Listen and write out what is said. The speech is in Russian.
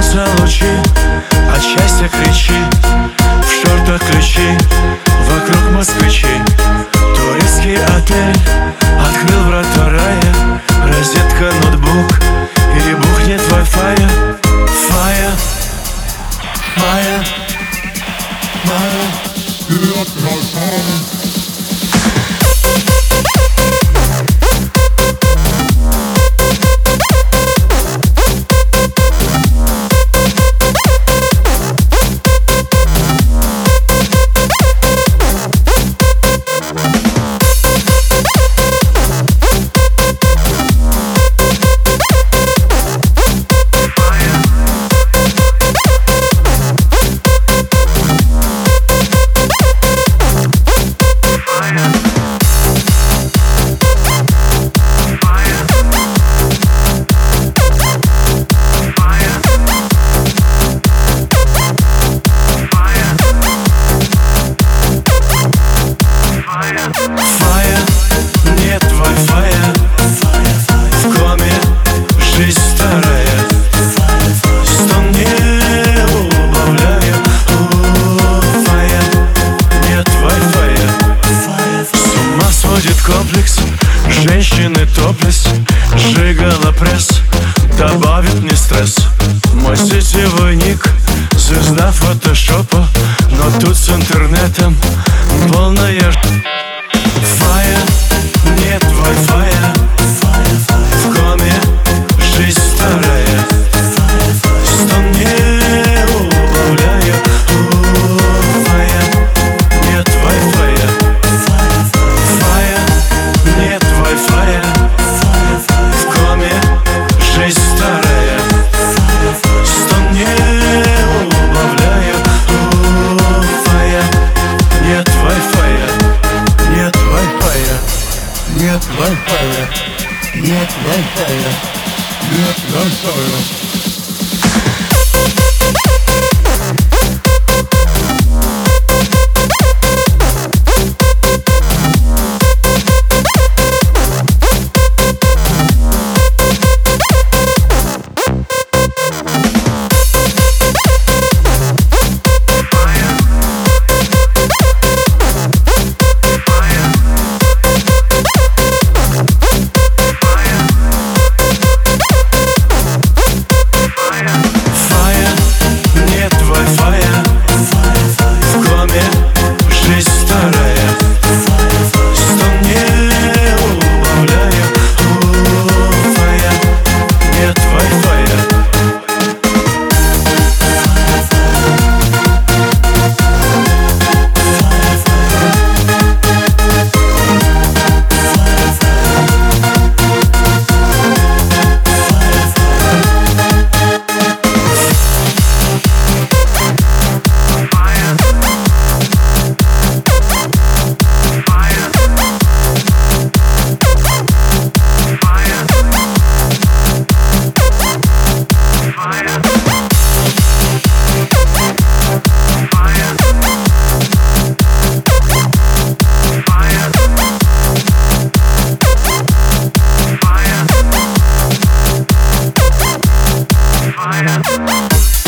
солнца лучи, от счастья кричи, в шортах ключи, вокруг москвичи. Турецкий отель открыл врата рая, розетка, ноутбук, перебухнет Wi-Fi. Fire, fire, fire. Фая, нет Wi-Fi, в коме жизнь старая, стон не убавляю. Фая, нет Wi-Fi, с ума сводит комплекс, женщины топлес, сжигала пресс, добавит мне стресс. Мой сетевой ник, звезда фотошопа, но тут с интернетом полная. Фая, нет Wi-Fi, в коме жизнь старая, стон не убавляю. Фая, нет Wi-Fi, фая, нет Wi-Fi, в коме жизнь старая, стон не убавляю. Фая, нет Wi-Fi, нет Wi-Fi, нет Wi-Fi, нет Wi-Fi, нет Wi-Fi. Fire.